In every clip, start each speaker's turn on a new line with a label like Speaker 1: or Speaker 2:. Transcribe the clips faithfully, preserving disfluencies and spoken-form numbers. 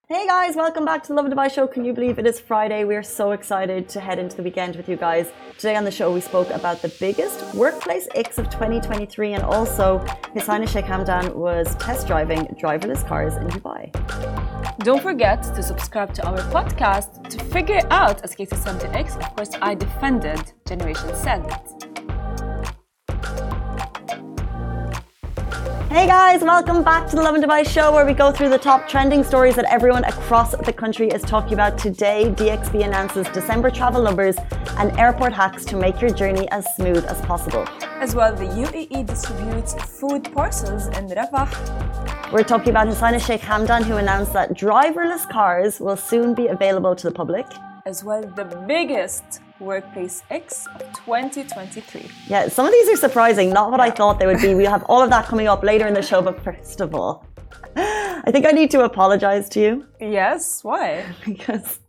Speaker 1: Hey guys, welcome back to the Lovin Dubai show. Can you believe it is Friday? We are so excited to head into the weekend with you guys. Today on the show we spoke about the biggest workplace icks of twenty twenty-three, and also His Highness Sheikh Hamdan was test driving driverless cars in Dubai.
Speaker 2: Don't forget to subscribe to our podcast to figure out, as Casey said to X, of course I defended Generation Z.
Speaker 1: Hey guys, welcome back to the Lovin Dubai show, where we go through the top trending stories that everyone across the country is talking about. Today, D X B announces December travel numbers and airport hacks to make your journey as smooth as possible.
Speaker 2: As well, the U A E distributes food parcels in Rafah.
Speaker 1: We're talking about His Highness Sheikh Hamdan, who announced that driverless cars will soon be available to the public.
Speaker 2: As well, the biggest workplace icks of twenty twenty-three.
Speaker 1: Yeah, some of these are surprising, not what I thought they would be. We'll have all of that coming up later in the show, but first of all, I think I need to apologize to you.
Speaker 2: Yes, why?
Speaker 1: Because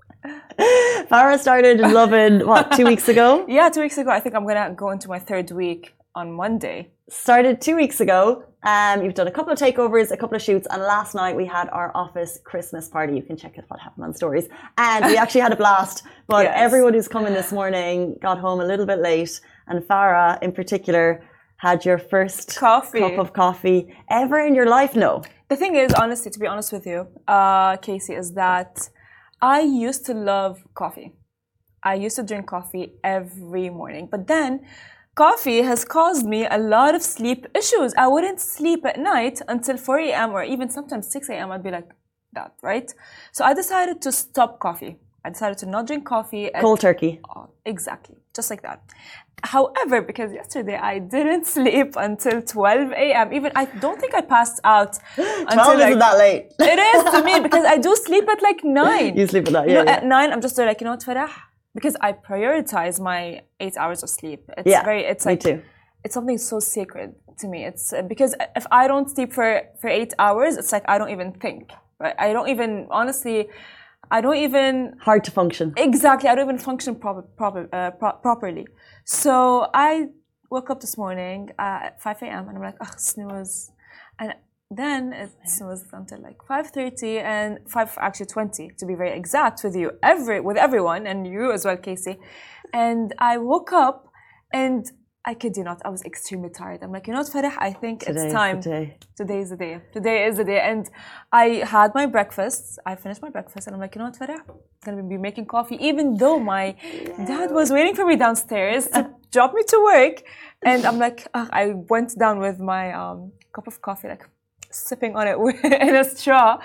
Speaker 1: Farah started Lovin, what, two weeks ago?
Speaker 2: Yeah, two weeks ago. I think I'm going to go into my third week on Monday.
Speaker 1: Started two weeks ago. Um, you've done a couple of takeovers, a couple of shoots, and last night we had our office Christmas party. You can check out what happened on stories. And we actually had a blast, but yes. Everyone who's come in this morning got home a little bit late, and Farah in particular had your first
Speaker 2: coffee.
Speaker 1: cup of coffee ever in your life. No.
Speaker 2: The thing is, honestly, to be honest with you, uh, Casey, is that I used to love coffee. I used to drink coffee every morning, but then coffee has caused me a lot of sleep issues. I wouldn't sleep at night until four a m or even sometimes six a m I'd be like that, right? So I decided to stop coffee. I decided to not drink coffee. At,
Speaker 1: Cold turkey.
Speaker 2: Oh, exactly, just like that. However, because yesterday I didn't sleep until twelve a m Even I don't think I passed out until
Speaker 1: twelve
Speaker 2: like,
Speaker 1: isn't that late.
Speaker 2: It is to me, because I do sleep at like nine.
Speaker 1: You sleep at that, yeah.
Speaker 2: You know,
Speaker 1: yeah.
Speaker 2: At nine, I'm just like, you know what, Farah? Because I prioritize my eight hours of sleep. It's
Speaker 1: yeah,
Speaker 2: very, it's
Speaker 1: me
Speaker 2: like,
Speaker 1: too.
Speaker 2: It's something so sacred to me. It's uh, because if I don't sleep for, for eight hours, it's like I don't even think, right? I don't even, honestly, I don't even...
Speaker 1: Hard to function.
Speaker 2: Exactly. I don't even function proper, proper, uh, pro properly. So I woke up this morning uh, at five a m and I'm like, oh, snooze. And then it was until like five thirty and five actually twenty to be very exact with you, every with everyone, and you as well, Casey. And I woke up and I kid you not, I was extremely tired. I'm like, you know what, Farah, I think
Speaker 1: Today
Speaker 2: it's time.
Speaker 1: Is the day.
Speaker 2: Today is the day. Today is the day. And I had my breakfast. I finished my breakfast and I'm like, you know what, Farah, I'm gonna be making coffee, even though my yeah. dad was waiting for me downstairs to drop me to work. And I'm like, oh, I went down with my um, cup of coffee, like sipping on it in a straw,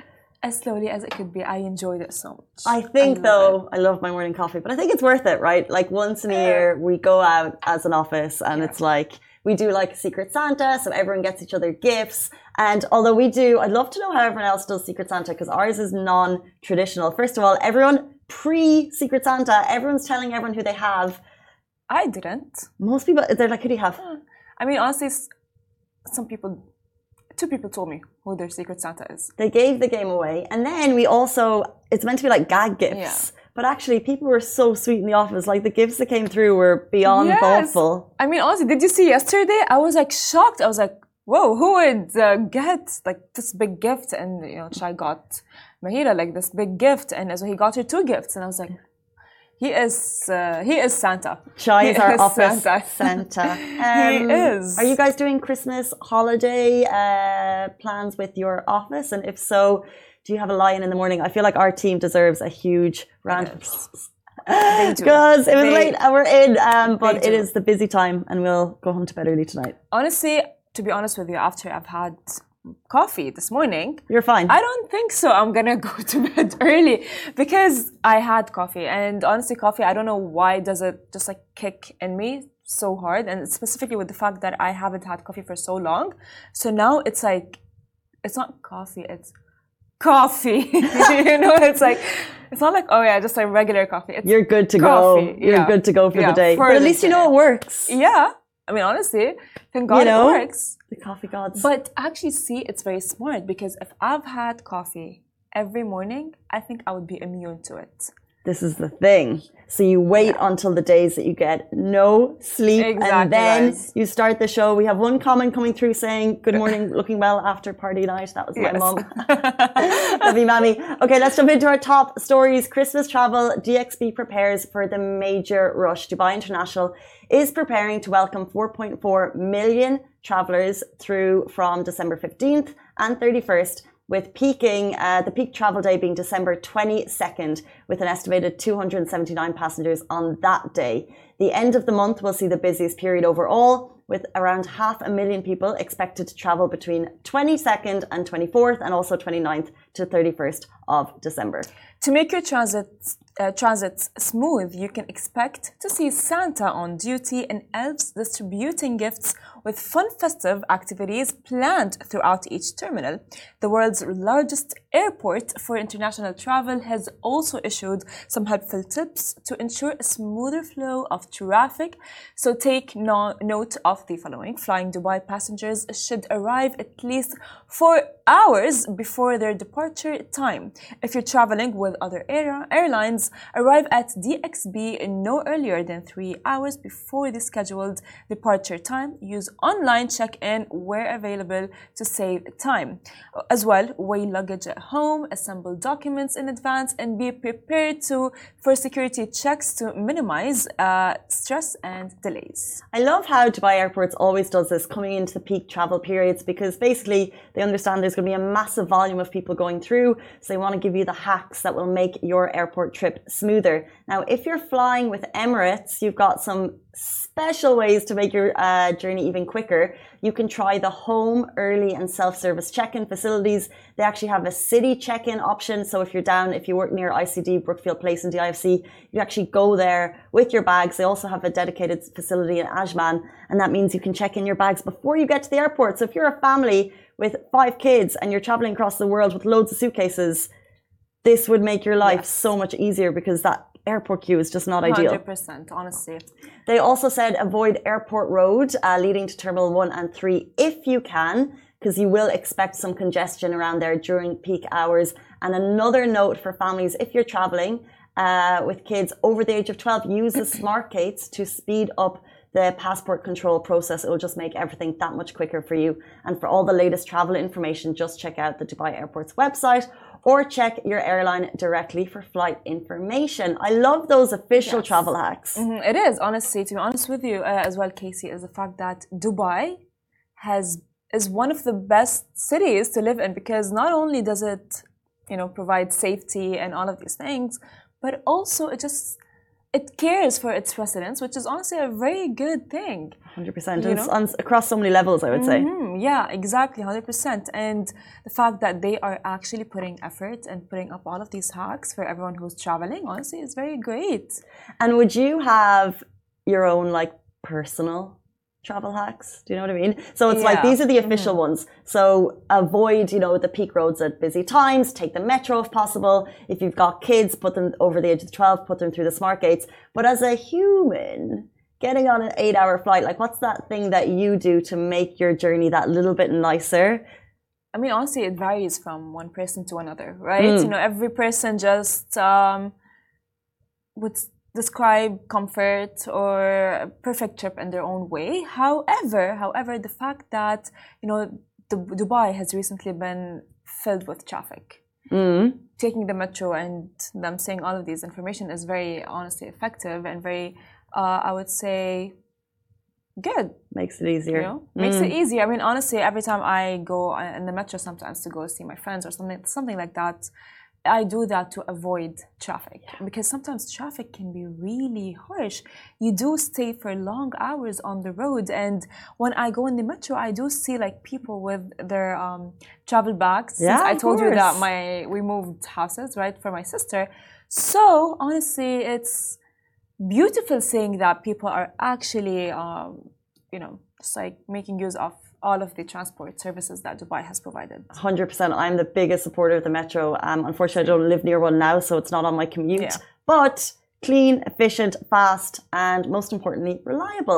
Speaker 2: as slowly as it could be. I enjoyed it so much.
Speaker 1: I think
Speaker 2: I
Speaker 1: though,
Speaker 2: it.
Speaker 1: I love my morning coffee, but I think it's worth it, right? Like once in a year, we go out as an office and yeah. it's like, we do like Secret Santa, so everyone gets each other gifts. And although we do, I'd love to know how everyone else does Secret Santa, because ours is non-traditional. First of all, everyone pre-Secret Santa, everyone's telling everyone who they have.
Speaker 2: I didn't.
Speaker 1: Most people, they're like, who do you have?
Speaker 2: I mean, honestly, some people... Two people told me who their Secret Santa is.
Speaker 1: They gave the game away. And then we also, it's meant to be like gag gifts.
Speaker 2: Yeah.
Speaker 1: But actually, people were so sweet in the office. Like the gifts that came through were beyond
Speaker 2: yes.
Speaker 1: thoughtful.
Speaker 2: I mean, honestly, did you see yesterday? I was like shocked. I was like, whoa, who would uh, get like this big gift? And, you know, Chai got Mahira like this big gift. And so he got her two gifts. And I was like, He is uh, he is Santa.
Speaker 1: Shai is our
Speaker 2: is
Speaker 1: office Santa. Santa. Um,
Speaker 2: he is.
Speaker 1: Are you guys doing Christmas holiday uh, plans with your office? And if so, do you have a lie-in in the morning? I feel like our team deserves a huge round of applause. Because it was they, late and we're in, um, but it is the busy time and we'll go home to bed early tonight.
Speaker 2: Honestly, to be honest with you, after I've had coffee this morning,
Speaker 1: you're fine.
Speaker 2: I don't think so. I'm gonna go to bed early because I had coffee, and honestly, coffee, I don't know why does it just like kick in me so hard, and specifically with the fact that I haven't had coffee for so long. So now it's like, it's not coffee, it's coffee. You know, it's like, it's not like, oh yeah, just like regular coffee. It's
Speaker 1: you're good to
Speaker 2: coffee.
Speaker 1: go. You're
Speaker 2: yeah.
Speaker 1: good to go for
Speaker 2: yeah,
Speaker 1: the day.
Speaker 2: For
Speaker 1: but at
Speaker 2: the
Speaker 1: least
Speaker 2: day.
Speaker 1: you know it works.
Speaker 2: Yeah. I mean, honestly, thank God
Speaker 1: you know,
Speaker 2: it works.
Speaker 1: The coffee gods.
Speaker 2: But actually, see, it's very smart because if I've had coffee every morning, I think I would be immune to it.
Speaker 1: This is the thing. So you wait yeah. until the days that you get no sleep,
Speaker 2: exactly,
Speaker 1: and then
Speaker 2: guys.
Speaker 1: you start the show. We have one comment coming through saying, good morning, looking well after party night. That was my
Speaker 2: yes.
Speaker 1: mum. Heavy mammy. Okay, let's jump into our top stories. Christmas travel. D X B prepares for the major rush. Dubai International is preparing to welcome four point four million travelers through from December fifteenth and thirty-first, with peaking, uh, the peak travel day being December twenty-second, with an estimated two hundred seventy-nine passengers on that day. The end of the month will see the busiest period overall, with around half a million people expected to travel between twenty-second and twenty-fourth, and also twenty-ninth to thirty-first of December.
Speaker 2: To make your transit uh, transits smooth, you can expect to see Santa on duty and elves distributing gifts, with fun festive activities planned throughout each terminal. The world's largest airport for international travel has also issued some helpful tips to ensure a smoother flow of traffic. So take no note of the following. Flying Dubai passengers should arrive at least four hours before their departure time. If you're traveling with other air airlines, arrive at D X B no earlier than three hours before the scheduled departure time. Use online check-in where available to save time. As well, weigh luggage at home, assemble documents in advance, and be prepared to for security checks to minimize uh, stress and delays.
Speaker 1: I love how Dubai Airports always does this coming into the peak travel periods, because basically they understand there's going to be a massive volume of people going through, so they want to give you the hacks that will make your airport trip smoother. Now, if you're flying with Emirates, you've got some special ways to make your uh, journey even quicker. You can try the home, early and self-service check-in facilities. They actually have a city check-in option. So if you're down, if you work near I C D, Brookfield Place and D I F C, you actually go there with your bags. They also have a dedicated facility in Ajman, and that means you can check in your bags before you get to the airport. So if you're a family with five kids and you're traveling across the world with loads of suitcases, this would make your life yes. so much easier, because that airport queue is just not ideal.
Speaker 2: one hundred percent, honestly.
Speaker 1: They also said avoid Airport Road uh, leading to Terminal one and three if you can, because you will expect some congestion around there during peak hours. And another note for families, if you're traveling uh, with kids over the age of twelve, use the smart gates to speed up the passport control process. It will just make everything that much quicker for you. And for all the latest travel information, just check out the Dubai Airports website, or check your airline directly for flight information. I love those official yes. travel hacks.
Speaker 2: Mm-hmm. It is, honestly, to be honest with you uh, as well, Casey, is the fact that Dubai has is one of the best cities to live in, because not only does it, you know, provide safety and all of these things, but also it just it cares for its residents, which is honestly a very good thing.
Speaker 1: one hundred percent. It's on, across so many levels, I would say.
Speaker 2: Mm-hmm. Yeah, exactly, one hundred percent. And the fact that they are actually putting effort and putting up all of these hacks for everyone who's traveling, honestly, is very great.
Speaker 1: And would you have your own, like, personal travel hacks? Do you know what I mean? So it's yeah. like, these are the official mm-hmm. ones. So avoid, you know, the peak roads at busy times. Take the metro if possible. If you've got kids, put them over the age of twelve, put them through the smart gates. But as a human, getting on an eight hour flight, like, what's that thing that you do to make your journey that little bit nicer?
Speaker 2: I mean, honestly, it varies from one person to another, right? Mm. You know, every person just um, would describe comfort or a perfect trip in their own way. However, however, the fact that, you know, the, Dubai has recently been filled with traffic.
Speaker 1: Mm.
Speaker 2: Taking the metro and them saying all of these information is very honestly effective and very, uh, I would say, good.
Speaker 1: Makes it easier.
Speaker 2: You know? mm. Makes it easier. I mean, honestly, every time I go in the metro sometimes to go see my friends or something, something like that, I do that to avoid traffic, yeah. because sometimes traffic can be really harsh. You do stay for long hours on the road, and when I go in the metro, I do see like people with their um, travel bags.
Speaker 1: Yeah,
Speaker 2: Since I told
Speaker 1: course.
Speaker 2: you that my we moved houses, right, for my sister. So honestly, it's beautiful seeing that people are actually, um, you know, just like making use of all of the transport services that Dubai has provided.
Speaker 1: one hundred percent. I'm the biggest supporter of the metro. Um, unfortunately, I don't live near one now, so it's not on my commute. Yeah. But clean, efficient, fast, and most importantly, reliable.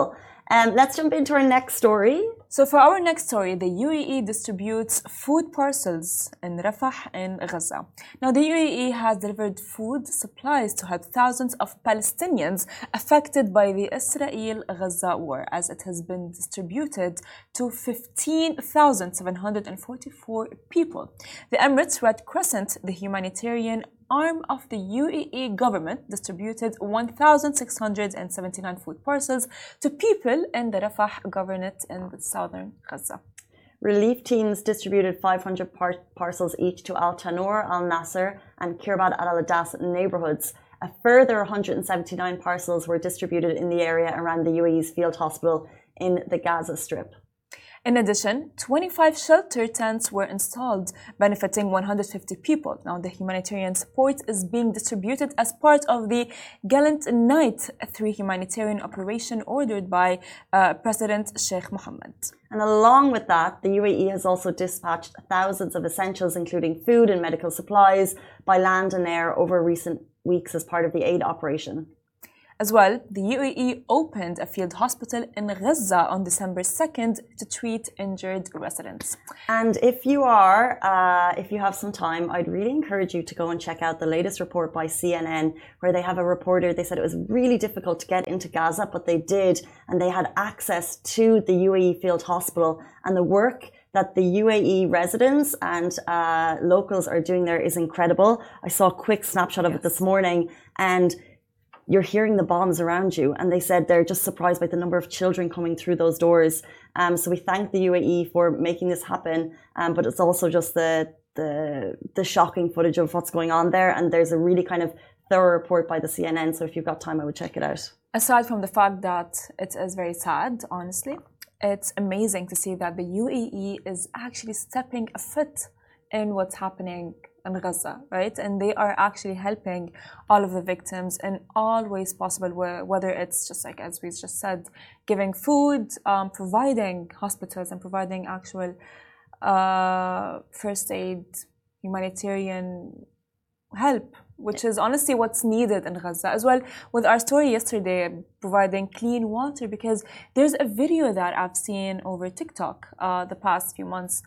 Speaker 1: Um, let's jump into our next story.
Speaker 2: So for our next story, the U A E distributes food parcels in Rafah in Gaza. Now, the U A E has delivered food supplies to help thousands of Palestinians affected by the Israel-Gaza war, as it has been distributed to fifteen thousand seven hundred forty-four people. The Emirates Red Crescent, the humanitarian arm of the U A E government, distributed one thousand six hundred seventy-nine food parcels to people in the Rafah governorate in southern Gaza.
Speaker 1: Relief teams distributed five hundred par parcels each to Al Tanur, Al Nasser, and Kirbad Al Adas neighborhoods. A further one hundred seventy-nine parcels were distributed in the area around the U A E's field hospital in the Gaza Strip.
Speaker 2: In addition, twenty-five shelter tents were installed, benefiting one hundred fifty people. Now, the humanitarian support is being distributed as part of the Gallant Night three humanitarian operation ordered by uh, President Sheikh Mohammed.
Speaker 1: And along with that, the U A E has also dispatched thousands of essentials, including food and medical supplies, by land and air over recent weeks as part of the aid operation.
Speaker 2: As well, the U A E opened a field hospital in Gaza on December second to treat injured residents.
Speaker 1: And if you are, uh, if you have some time, I'd really encourage you to go and check out the latest report by C N N, where they have a reporter. They said it was really difficult to get into Gaza, but they did, and they had access to the U A E field hospital, and the work that the U A E residents and uh, locals are doing there is incredible. I saw a quick snapshot of yes. it this morning, and you're hearing the bombs around you, and they said they're just surprised by the number of children coming through those doors. Um, so we thank the U A E for making this happen, um, but it's also just the, the the shocking footage of what's going on there, and there's a really kind of thorough report by the C N N, so if you've got time, I would check it out.
Speaker 2: Aside from the fact that it is very sad, honestly, it's amazing to see that the U A E is actually stepping a foot in what's happening in Gaza, right? And they are actually helping all of the victims in all ways possible, whether it's just like, as we just said, giving food, um, providing hospitals and providing actual uh, first aid, humanitarian help, which is honestly what's needed in Gaza. As well, with our story yesterday, providing clean water, because there's a video that I've seen over TikTok uh, the past few months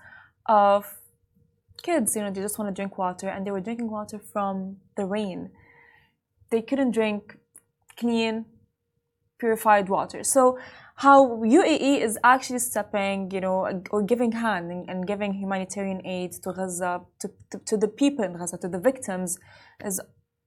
Speaker 2: of kids, you know, they just want to drink water, and they were drinking water from the rain. They couldn't drink clean, purified water. So how U A E is actually stepping, you know, or giving hand and, and giving humanitarian aid to Gaza, to, to, to the people in Gaza, to the victims, is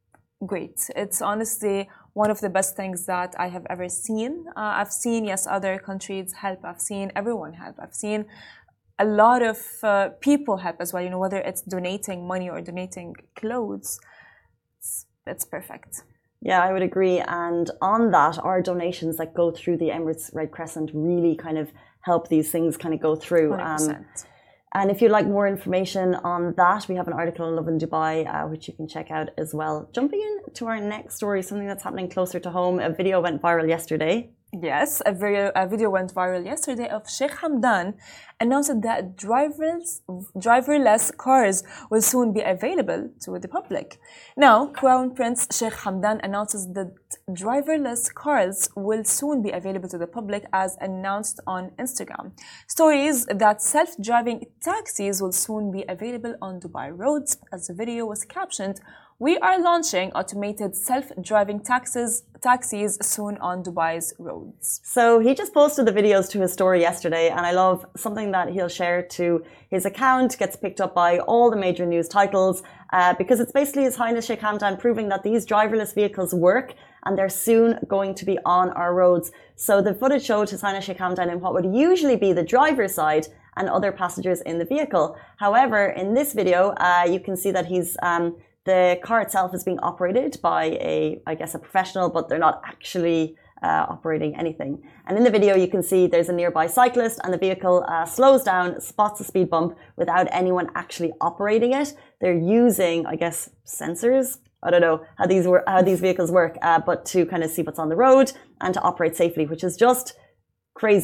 Speaker 2: great. It's honestly one of the best things that I have ever seen. Uh, I've seen, yes, other countries help. I've seen everyone help. I've seen a lot of uh, people help as well, you know, whether it's donating money or donating clothes. It's, it's perfect.
Speaker 1: Yeah, I would agree. And on that, our donations that go through the Emirates Red Crescent really kind of help these things kind of go through.
Speaker 2: one hundred percent.
Speaker 1: Um, and if you'd like more information on that, we have an article on Lovin Dubai, uh, which you can check out as well. Jumping into our next story, something that's happening closer to home. A video went viral yesterday.
Speaker 2: Yes, a video, a video went viral yesterday of Sheikh Hamdan announced that driverless, driverless cars will soon be available to the public. Now, Crown Prince Sheikh Hamdan announces that driverless cars will soon be available to the public, as announced on Instagram. Stories that self-driving taxis will soon be available on Dubai roads. As the video was captioned, "We are launching automated self-driving taxis, taxis soon on Dubai's roads."
Speaker 1: So he just posted the videos to his story yesterday, and I love something that he'll share to his account, gets picked up by all the major news titles, uh, because it's basically His Highness Sheikh Hamdan proving that these driverless vehicles work, and they're soon going to be on our roads. So the footage showed His Highness Sheikh Hamdan in what would usually be the driver's side and other passengers in the vehicle. However, in this video, uh, you can see that he's um, the car itself is being operated by a, I guess, a professional, but they're not actually uh, operating anything. And in the video, you can see there's a nearby cyclist, and the vehicle uh, slows down, spots a speed bump without anyone actually operating it. They're using, I guess, sensors. I don't know how these were, how these vehicles work, uh, but to kind of see what's on the road and to operate safely, which is just crazy.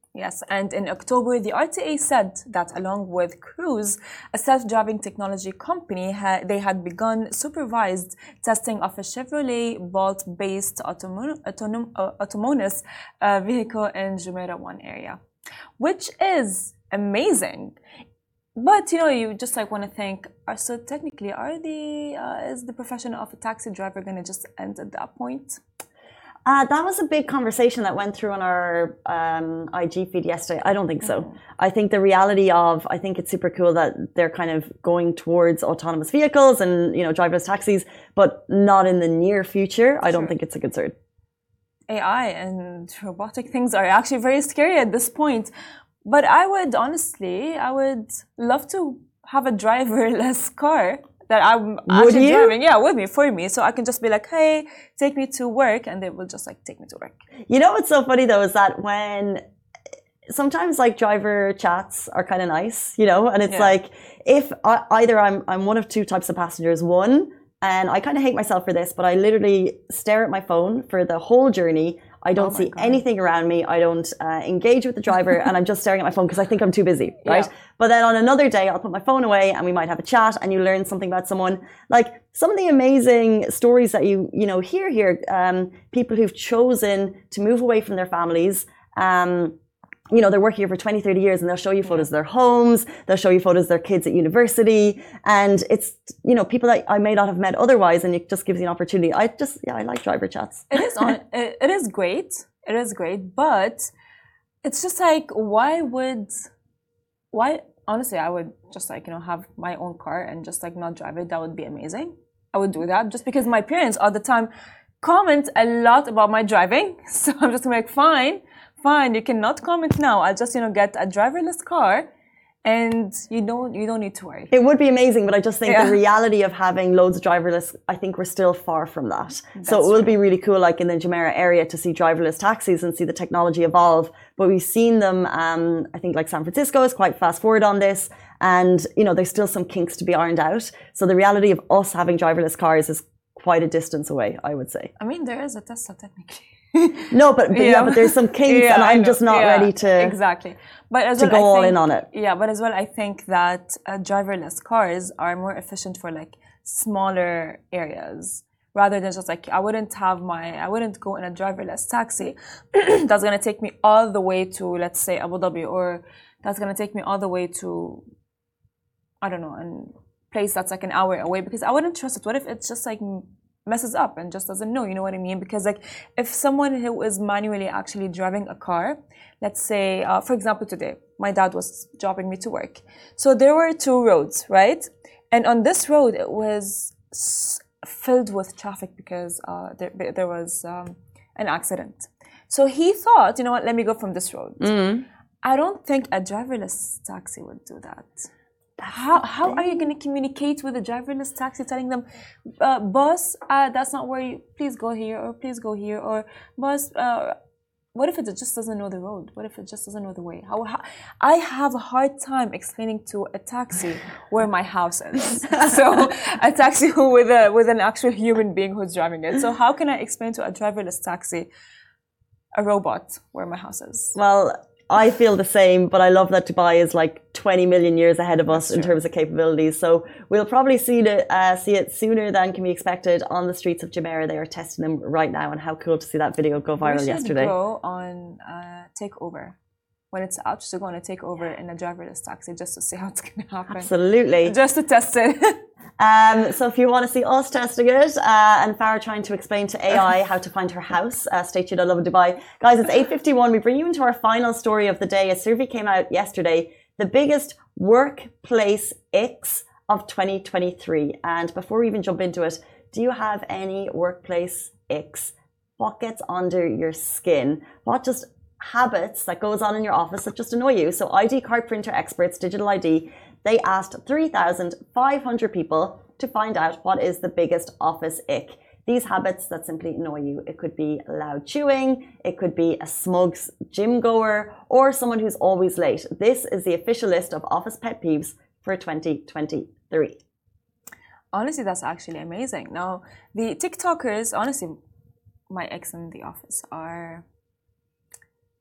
Speaker 2: Yes, and in October, the R T A said that along with Cruise, a self-driving technology company, ha they had begun supervised testing of a Chevrolet Bolt-based autonom autonom uh, autonomous uh, vehicle in Jumeirah one area, which is amazing. But you know, you just like want to think. Are, so technically, are the uh, is the profession of a taxi driver going to just end at that point?
Speaker 1: Uh, that was a big conversation that went through on our um, I G feed yesterday. I don't think so. Mm-hmm. I think the reality of, I think it's super cool that they're kind of going towards autonomous vehicles and, you know, driverless taxis, but not in the near future. I don't sure. think it's a concern.
Speaker 2: A I and robotic things are actually very scary at this point. But I would honestly, I would love to have a driverless car. That I'm actually
Speaker 1: you?
Speaker 2: driving, yeah, with me, for me. So I can just be like, hey, take me to work, and they will just like take me to work.
Speaker 1: You know what's so funny though is that when sometimes like driver chats are kind of nice, you know, and it's yeah. like if I, either I'm I'm one of two types of passengers. One, and I kind of hate myself for this, but I literally stare at my phone for the whole journey. I don't oh see God. anything around me. I don't uh, engage with the driver, and I'm just staring at my phone because I think I'm too busy, right? Yeah. But then on another day, I'll put my phone away, and we might have a chat, and you learn something about someone. Like some of the amazing stories that you you know hear here, um, people who've chosen to move away from their families. Um, you know, they're working here for twenty, thirty years and they'll show you photos of their homes, they'll show you photos of their kids at university. And it's, you know, people that I may not have met otherwise, and it just gives you an opportunity. I just, yeah, I like driver chats.
Speaker 2: It is on, it, it is great. It is great. But it's just like, why would, why, honestly, I would just like, you know, have my own car and just like not drive it. That would be amazing. I would do that just because my parents all the time comment a lot about my driving. So I'm just like, fine. Fine, you cannot comment now. I'll just, you know, get a driverless car, and you don't, you don't need to worry.
Speaker 1: It would be amazing, but I just think yeah. the reality of having loads of driverless, I think we're still far from that. That's so it will true. be really cool, like in the Jumeirah area, to see driverless taxis and see the technology evolve. But we've seen them. Um, I think like San Francisco is quite fast forward on this, and you know, there's still some kinks to be ironed out. So the reality of us having driverless cars is quite a distance away, I would say.
Speaker 2: I mean, there is a Tesla technically.
Speaker 1: No, but, but yeah. yeah, but there's some kinks, yeah, and I'm just not yeah, ready to
Speaker 2: exactly. But as
Speaker 1: to
Speaker 2: well,
Speaker 1: go
Speaker 2: I
Speaker 1: all
Speaker 2: think,
Speaker 1: in on it.
Speaker 2: Yeah, but as well, I think that uh, driverless cars are more efficient for like smaller areas rather than just like I wouldn't have my I wouldn't go in a driverless taxi that's gonna take me all the way to, let's say, Abu Dhabi, or that's gonna take me all the way to, I don't know, a place that's like an hour away, because I wouldn't trust it. What if it's just like messes up and just doesn't know, you know what I mean? Because like if someone who is manually actually driving a car, let's say, uh, for example, today, my dad was dropping me to work. So there were two roads, right? And on this road, it was filled with traffic because uh, there, there was um, an accident. So he thought, you know what, let me go from this road. Mm-hmm. I don't think a driverless taxi would do that. How how are you going to communicate with a driverless taxi, telling them, uh, boss, uh, that's not where you, please go here, or please go here, or boss, uh, what if it just doesn't know the road? What if it just doesn't know the way? How, how I have a hard time explaining to a taxi where my house is. So a taxi who with a with an actual human being who's driving it. So how can I explain to a driverless taxi, a robot, where my house is?
Speaker 1: Well, I feel the same, but I love that Dubai is like twenty million years ahead of us
Speaker 2: That's
Speaker 1: in
Speaker 2: true.
Speaker 1: terms of capabilities. So we'll probably see it, uh, see it sooner than can be expected on the streets of Jumeirah. They are testing them right now, and how cool to see that video go viral
Speaker 2: we should
Speaker 1: yesterday.
Speaker 2: Go on uh, takeover when it's out. Just to go on a takeover in a driverless taxi just to see how it's going to happen.
Speaker 1: Absolutely,
Speaker 2: just to test it.
Speaker 1: Um, so if you want to see us testing it uh, and Farah trying to explain to A I how to find her house, uh, stay tuned. I love Dubai. Guys, it's eight fifty-one. We bring you into our final story of the day. A survey came out yesterday, the biggest workplace icks of twenty twenty-three. And before we even jump into it, do you have any workplace icks? What gets under your skin? What just habits that goes on in your office that just annoy you? So I D card printer experts, Digital I D, they asked three thousand five hundred people to find out what is the biggest office ick. These habits that simply annoy you. It could be loud chewing, it could be a smug gym goer, or someone who's always late. This is the official list of office pet peeves for twenty twenty-three.
Speaker 2: Honestly, that's actually amazing. Now, the TikTokers, honestly, my ex in the office are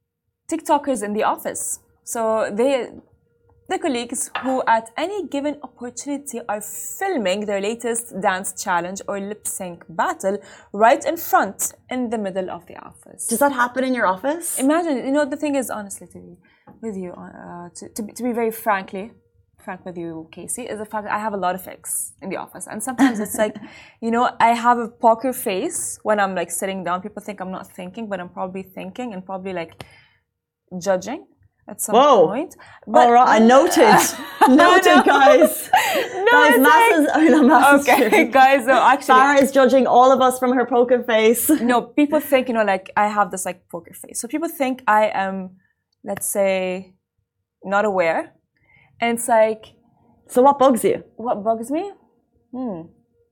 Speaker 2: TikTokers in the office. So they, the colleagues who at any given opportunity are filming their latest dance challenge or lip sync battle right in front in the middle of the office.
Speaker 1: Does that happen in your office?
Speaker 2: Imagine, you know, the thing is, honestly, to be with you, uh, to, to, be, to be very frankly, frank with you, Casey, is the fact that I have a lot of icks in the office. And sometimes it's like, you know, I have a poker face when I'm like sitting down. People think I'm not thinking, but I'm probably thinking and probably like judging at some
Speaker 1: Whoa.
Speaker 2: point. But
Speaker 1: all right, I noted. noted,
Speaker 2: no.
Speaker 1: guys.
Speaker 2: No,
Speaker 1: guys,
Speaker 2: it's
Speaker 1: masses,
Speaker 2: like,
Speaker 1: I mean, not masses.
Speaker 2: okay, guys, no, actually.
Speaker 1: Farah is judging all of us from her poker face.
Speaker 2: No, people think, you know, like I have this like poker face. So people think I am, let's say, not aware. And it's like,
Speaker 1: so what bugs you?
Speaker 2: What bugs me? Hmm.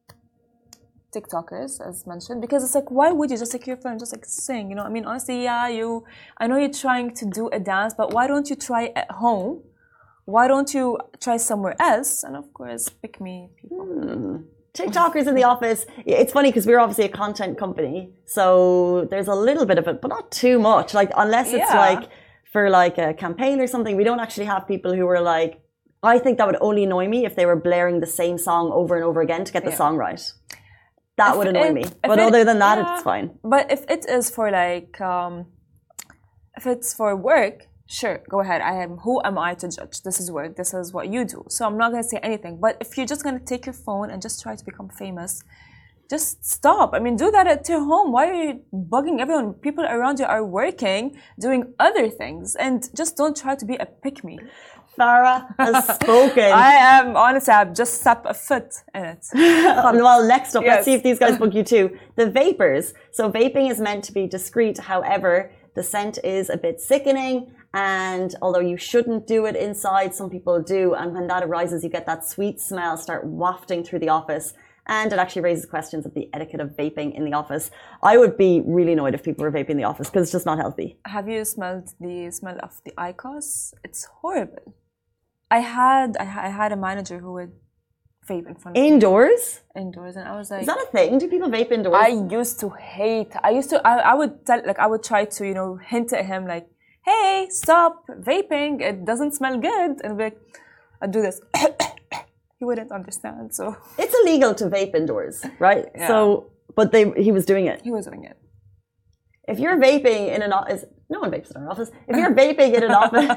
Speaker 2: TikTokers, as mentioned, because it's like, why would you just take your phone and just like sing? You know, I mean, honestly, yeah, you. I know you're trying to do a dance, but why don't you try at home? Why don't you try somewhere else? And of course, pick me people.
Speaker 1: Hmm. TikTokers in the office. It's funny because we're obviously a content company, so there's a little bit of it, but not too much. Like unless it's
Speaker 2: Yeah.
Speaker 1: like for like a campaign or something, we don't actually have people who are like. I think that would only annoy me if they were blaring the same song over and over again to get the
Speaker 2: Yeah.
Speaker 1: song right. That
Speaker 2: If
Speaker 1: would annoy
Speaker 2: it-
Speaker 1: me.
Speaker 2: if
Speaker 1: But
Speaker 2: it-
Speaker 1: other than that,
Speaker 2: yeah.
Speaker 1: it's fine.
Speaker 2: But if it is for like, um, if it's for work, sure, go ahead. I am. Who am I to judge? This is work. This is what you do. So I'm not gonna say anything. But if you're just gonna take your phone and just try to become famous, just stop. I mean, do that at your home. Why are you bugging everyone? People around you are working, doing other things, and just don't try to be a pick me.
Speaker 1: Farah has spoken.
Speaker 2: I am honestly, I've just stepped a foot in it.
Speaker 1: Well, next up,
Speaker 2: Yes.
Speaker 1: let's see if these guys book you too. The vapors. So vaping is meant to be discreet. However, the scent is a bit sickening. And although you shouldn't do it inside, some people do. And when that arises, you get that sweet smell start wafting through the office. And it actually raises questions of the etiquette of vaping in the office. I would be really annoyed if people were vaping in the office because it's just not healthy.
Speaker 2: Have you smelled the smell of the I C O S? It's horrible. I had I, ha- I had a manager who would vape in front of
Speaker 1: Indoors?
Speaker 2: me indoors, and I was like,
Speaker 1: Is that a thing? Do people vape indoors?
Speaker 2: I used to hate. I used to. I, I would tell like I would try to you know hint at him like, hey, stop vaping. It doesn't smell good, and be like, I'd do this. He wouldn't understand. So
Speaker 1: It's illegal to vape indoors, right?
Speaker 2: Yeah.
Speaker 1: So, but they he was doing it.
Speaker 2: he was doing it.
Speaker 1: If you're vaping in an office, no one vapes in our office. If you're vaping in an office,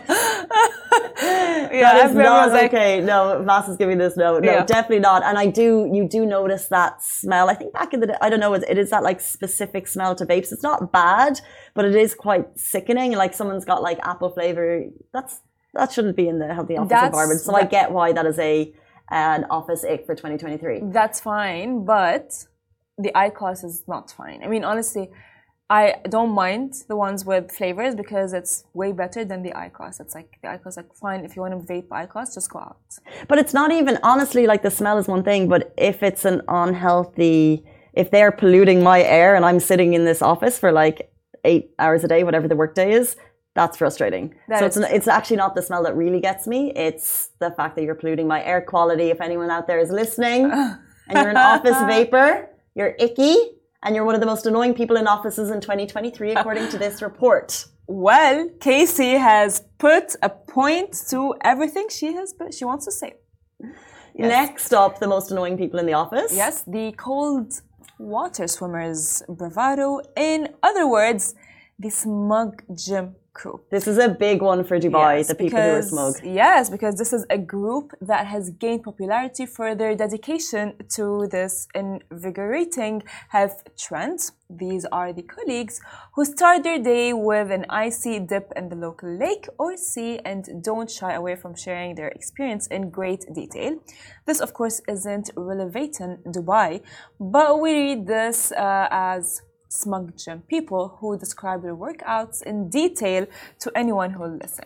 Speaker 2: Yeah,
Speaker 1: that is
Speaker 2: everyone
Speaker 1: not
Speaker 2: was like,
Speaker 1: okay. No, Vass is giving this no, no,
Speaker 2: Yeah.
Speaker 1: definitely not. And I do, you do notice that smell. I think back in the day, I don't know, it, it is that like specific smell to vapes. It's not bad, but it is quite sickening. Like someone's got like apple flavor. That's that shouldn't be in the healthy office
Speaker 2: That's-
Speaker 1: environment. So I
Speaker 2: that-
Speaker 1: get why that is a an office ick for twenty twenty-three.
Speaker 2: That's fine, but the I C O S is not fine. I mean, honestly, I don't mind the ones with flavors because it's way better than the I C O S. It's like the I C O S, like fine, if you want to vape I C O S, just go out.
Speaker 1: But it's not even, honestly, like the smell is one thing, but if it's an unhealthy, if they're polluting my air and I'm sitting in this office for like eight hours a day, whatever the workday is, that's frustrating.
Speaker 2: That
Speaker 1: so
Speaker 2: is
Speaker 1: it's, an, it's actually not the smell that really gets me. It's the fact that you're polluting my air quality. If anyone out there is listening and you're an office vapor, you're icky and you're one of the most annoying people in offices in twenty twenty-three, according to this report.
Speaker 2: Well, Casey has put a point to everything she has, but she wants to say. Yes.
Speaker 1: Next up, the most annoying people in the office.
Speaker 2: Yes, the cold water swimmers bravado. In other words, the smug gym crew.
Speaker 1: This is a big one for Dubai,
Speaker 2: Yes,
Speaker 1: the people who are
Speaker 2: because-
Speaker 1: smug.
Speaker 2: Yes, because this is a group that has gained popularity for their dedication to this invigorating health trend. These are the colleagues who start their day with an icy dip in the local lake or sea and don't shy away from sharing their experience in great detail. This, of course, isn't relevant in Dubai, but we read this uh, as smug gym people who describe their workouts in detail to anyone who will listen.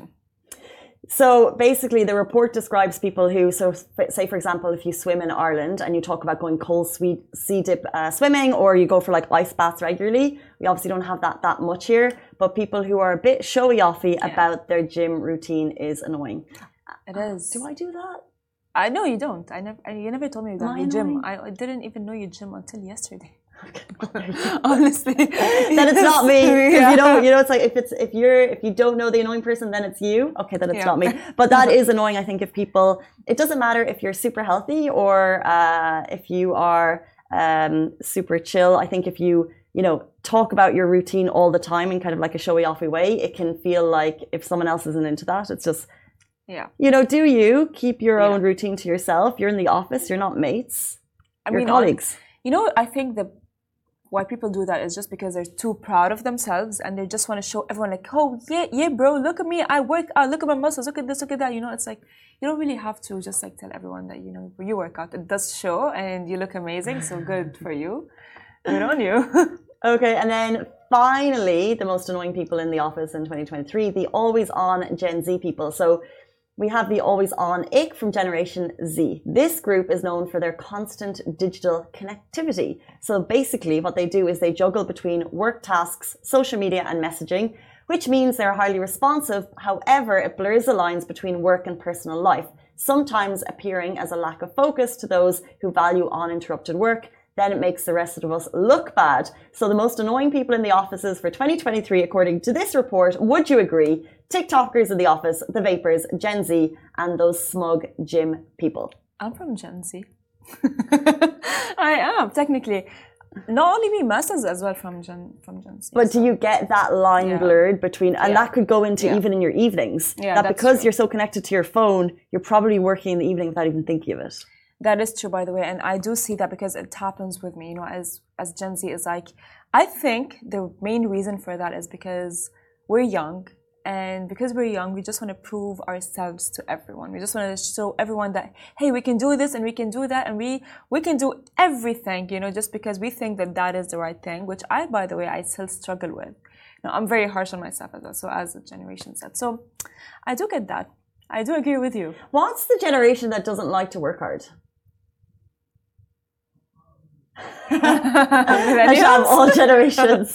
Speaker 1: So basically, the report describes people who, so say for example, if you swim in Ireland and you talk about going cold sweet sea dip uh, swimming, or you go for like ice baths regularly, we obviously don't have that that much here. But people who are a bit showy offy
Speaker 2: Yeah.
Speaker 1: about their gym routine is annoying.
Speaker 2: It is.
Speaker 1: Do I do that?
Speaker 2: I know you don't. I never. You never told me you
Speaker 1: Am I
Speaker 2: done your gym.
Speaker 1: annoying?
Speaker 2: I, I didn't even know you gym until yesterday. Honestly,
Speaker 1: then it's not me. Because
Speaker 2: Yeah.
Speaker 1: you know, you know, it's like if it's if you're if you don't know the annoying person, then it's you. Okay, then it's
Speaker 2: Yeah.
Speaker 1: not me. But that is annoying. I think if people, it doesn't matter if you're super healthy or uh, if you are um, super chill. I think if you you know talk about your routine all the time in kind of like a showy offy way, it can feel like if someone else isn't into that, it's just
Speaker 2: Yeah.
Speaker 1: you know, do you keep your
Speaker 2: Yeah.
Speaker 1: own routine to yourself? You're in the office. You're not mates.
Speaker 2: I
Speaker 1: You're
Speaker 2: mean,
Speaker 1: colleagues.
Speaker 2: You know, I think the why people do that is just because they're too proud of themselves and they just want to show everyone like, oh yeah, yeah, bro, look at me, I work out, look at my muscles, look at this, look at that. You know, it's like you don't really have to just like tell everyone that you know you work out. It does show, and you look amazing. So good for you. Good on you.
Speaker 1: Okay, and then finally, the most annoying people in the office in twenty twenty-three, the always on Gen Z people. So we have the always on ick from Generation Z. This group is known for their constant digital connectivity. So basically what they do is they juggle between work tasks, social media and messaging, which means they're highly responsive. However, it blurs the lines between work and personal life, sometimes appearing as a lack of focus to those who value uninterrupted work. Then it makes the rest of us look bad. So the most annoying people in the offices for twenty twenty-three, according to this report, would you agree? TikTokers in the office, the vapors, Gen Z, and those smug gym people.
Speaker 2: I'm from Gen Z. I am technically. Not only me, Masses as well from Gen from Gen Z.
Speaker 1: But do you get that line
Speaker 2: Yeah.
Speaker 1: blurred between, and
Speaker 2: Yeah.
Speaker 1: that could go into
Speaker 2: Yeah.
Speaker 1: even in your evenings,
Speaker 2: Yeah,
Speaker 1: that
Speaker 2: that's
Speaker 1: because
Speaker 2: true.
Speaker 1: you're so connected to your phone, you're probably working in the evening without even thinking of it.
Speaker 2: That is true, by the way, and I do see that because it happens with me. You know, as as Gen Z is like, I think the main reason for that is because we're young, and because we're young, we just want to prove ourselves to everyone. We just want to show everyone that hey, we can do this and we can do that, and we we can do everything. You know, just because we think that that is the right thing, which I, by the way, I still struggle with. You know, I'm very harsh on myself as well. So as the generation said, so I do get that. I do agree with you.
Speaker 1: What's the generation that doesn't like to work hard? Hasham, all generations.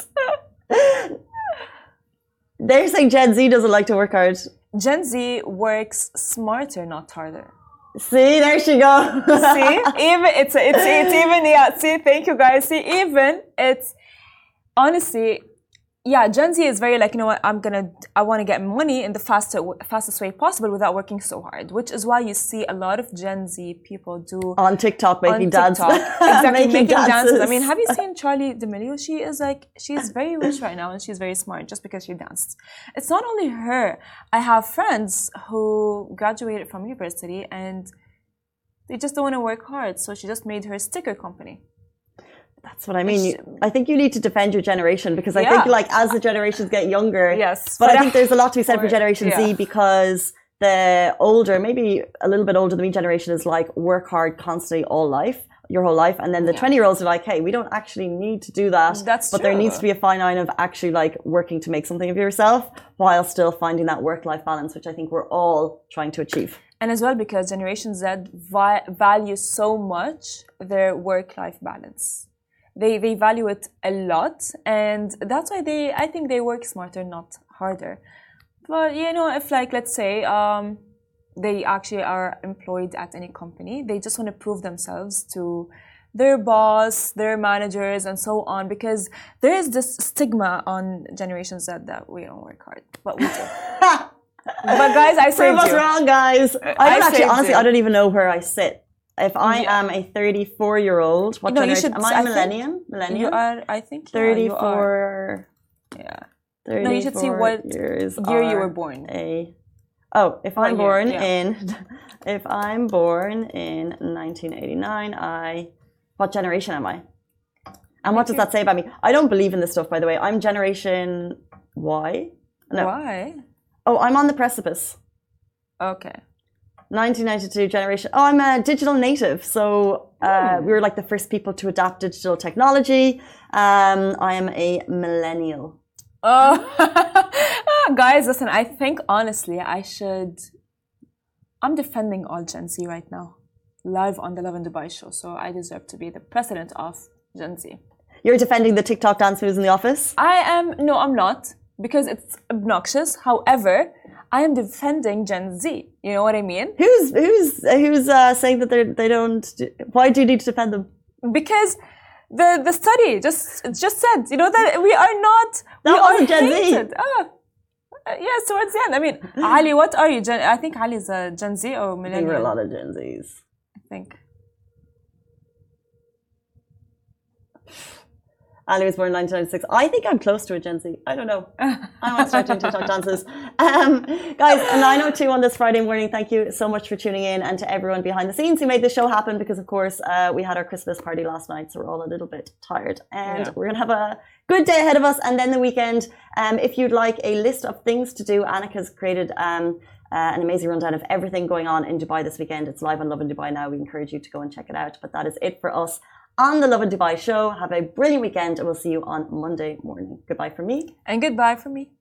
Speaker 1: They're saying Gen Z doesn't like to work hard.
Speaker 2: Gen Z works smarter, not harder.
Speaker 1: See, there she goes.
Speaker 2: See, even it's it's it's even yeah. See, thank you guys. See, even it's honestly, yeah. Gen Z is very like you know what I'm gonna I want to get money in the fastest fastest way possible without working so hard, which is why you see a lot of Gen Z people do
Speaker 1: On TikTok making
Speaker 2: on
Speaker 1: dance.
Speaker 2: TikTok. Exactly,
Speaker 1: making,
Speaker 2: making dances.
Speaker 1: dances.
Speaker 2: I mean, have you seen Charlie D'Amelio? She is like, she's very rich right now and she's very smart just because she danced. It's not only her. I have friends who graduated from university and they just don't want to work hard. So she just made her sticker company.
Speaker 1: That's what I mean. You, I think you need to defend your generation because I
Speaker 2: Yeah.
Speaker 1: think like as the generations get younger,
Speaker 2: Yes.
Speaker 1: but I
Speaker 2: but
Speaker 1: think there's a lot to be said for
Speaker 2: for-
Speaker 1: Generation
Speaker 2: yeah.
Speaker 1: Z because the older, maybe a little bit older than me generation is like work hard constantly all life, your whole life. And then the
Speaker 2: Yeah.
Speaker 1: twenty year olds are like, hey, we don't actually need to do that.
Speaker 2: That's
Speaker 1: But there
Speaker 2: true.
Speaker 1: needs to be a fine line of actually like working to make something of yourself while still finding that work life balance, which I think we're all trying to achieve.
Speaker 2: And as well because Generation Z vi- values so much their work-life balance. They they value it a lot, and that's why they I think they work smarter, not harder. But you know, if like let's say um, they actually are employed at any company, they just want to prove themselves to their boss, their managers, and so on. Because there is this stigma on Generation Z that we don't work hard, but we do. But guys, I
Speaker 1: Prove
Speaker 2: saved
Speaker 1: us
Speaker 2: you.
Speaker 1: wrong, guys. I
Speaker 2: I
Speaker 1: don't actually,
Speaker 2: saved
Speaker 1: honestly,
Speaker 2: you.
Speaker 1: I don't even know where I sit. If I
Speaker 2: Yeah.
Speaker 1: am a thirty-four year old, what
Speaker 2: No, you
Speaker 1: generation?
Speaker 2: should-
Speaker 1: Am I
Speaker 2: I
Speaker 1: a
Speaker 2: think
Speaker 1: millennium?
Speaker 2: You
Speaker 1: Millennium?
Speaker 2: are, I think, yeah, you
Speaker 1: thirty-four.
Speaker 2: are. Yeah.
Speaker 1: thirty-four
Speaker 2: No, you should see what
Speaker 1: years
Speaker 2: year you
Speaker 1: are
Speaker 2: were born.
Speaker 1: A, oh, if
Speaker 2: What
Speaker 1: I'm
Speaker 2: year?
Speaker 1: born
Speaker 2: Yeah.
Speaker 1: in, if I'm born in nineteen eighty-nine, I, what generation am I? And what does that say about me? I don't believe in this stuff, by the way. I'm Generation Y. No.
Speaker 2: Why?
Speaker 1: Oh, I'm on the precipice.
Speaker 2: Okay.
Speaker 1: nineteen ninety-two generation. Oh, I'm a digital native. So uh, we were like the first people to adapt digital technology. Um, I am a millennial.
Speaker 2: Oh, guys, listen. I think honestly, I should. I'm defending all Gen Z right now, live on the Love in Dubai show. So I deserve to be the president of Gen Z.
Speaker 1: You're defending the TikTok dance moves in the office?
Speaker 2: I am. No, I'm not because it's obnoxious. However, I am defending Gen Z. You know what I mean?
Speaker 1: Who's who's who's uh, saying that they they don't? Do, why do you need to defend them?
Speaker 2: Because the the study just just said, you know, that we are not.
Speaker 1: That
Speaker 2: we
Speaker 1: wasn't
Speaker 2: are
Speaker 1: Gen
Speaker 2: hated.
Speaker 1: Z.
Speaker 2: Oh, uh, yes, towards the end. I mean, Ali, what are you? Gen, I think Ali is a Gen Z or
Speaker 1: I think
Speaker 2: millennial.
Speaker 1: we're a lot of Gen Zs.
Speaker 2: I think.
Speaker 1: Ali was born in nineteen ninety-six. I think I'm close to a Gen Z. I don't know. I want to start doing TikTok dances. Um, guys, and nine oh two on this Friday morning. Thank you so much for tuning in, and to everyone behind the scenes who made the show happen, because, of course, uh, we had our Christmas party last night, so we're all a little bit tired. And yeah. we're going to have a good day ahead of us, and then the weekend. Um, if you'd like a list of things to do, Annika's created um, uh, an amazing rundown of everything going on in Dubai this weekend. It's live on Love in Dubai now. We encourage you to go and check it out. But that is it for us on the Love in Dubai show. Have a brilliant weekend, and we'll see you on Monday morning. Goodbye from me.
Speaker 2: And goodbye from me.